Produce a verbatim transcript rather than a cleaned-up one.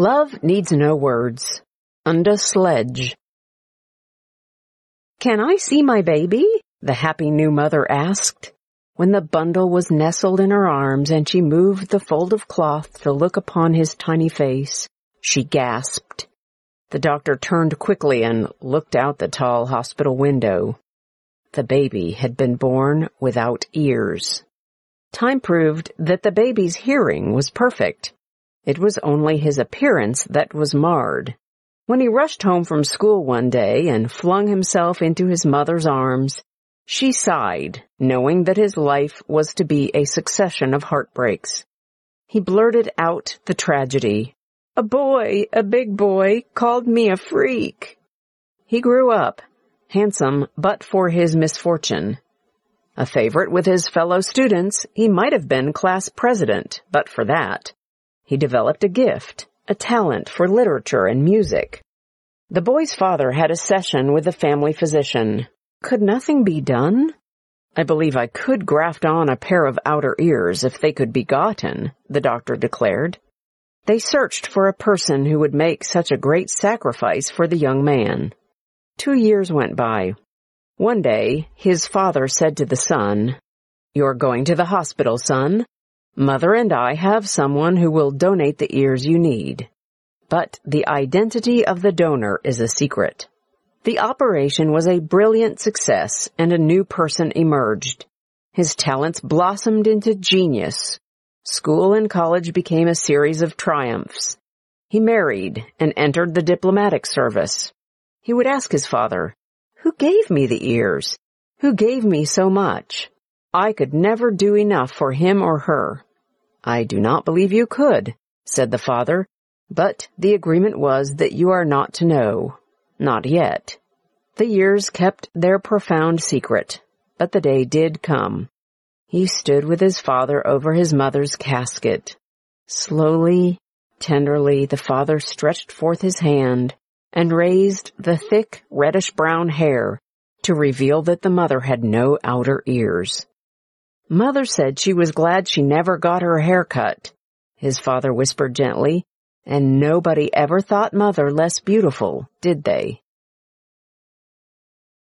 Love needs no words. Unda Sledge. "Can I see my baby?" the happy new mother asked. When the bundle was nestled in her arms and she moved the fold of cloth to look upon his tiny face, she gasped. The doctor turned quickly and looked out the tall hospital window. The baby had been born without ears. Time proved that the baby's hearing was perfect. It was only his appearance that was marred. When he rushed home from school one day and flung himself into his mother's arms, she sighed, knowing that his life was to be a succession of heartbreaks. He blurted out the tragedy. "A boy, a big boy, called me a freak." He grew up, handsome but for his misfortune. A favorite with his fellow students, he might have been class president, but for that. He developed a gift, a talent for literature and music. The boy's father had a session with the family physician. Could nothing be done? "I believe I could graft on a pair of outer ears if they could be gotten," the doctor declared. They searched for a person who would make such a great sacrifice for the young man. Two years went by. One day, his father said to the son, "You're going to the hospital, son. Mother and I have someone who will donate the ears you need. But the identity of the donor is a secret." The operation was a brilliant success, and a new person emerged. His talents blossomed into genius. School and college became a series of triumphs. He married and entered the diplomatic service. He would ask his father, "Who gave me the ears? Who gave me so much? I could never do enough for him or her." "I do not believe you could," said the father, "but the agreement was that you are not to know. Not yet." The years kept their profound secret, but the day did come. He stood with his father over his mother's casket. Slowly, tenderly, the father stretched forth his hand and raised the thick, reddish-brown hair to reveal that the mother had no outer ears. "Mother said she was glad she never got her hair cut," his father whispered gently, "and nobody ever thought Mother less beautiful, did they?"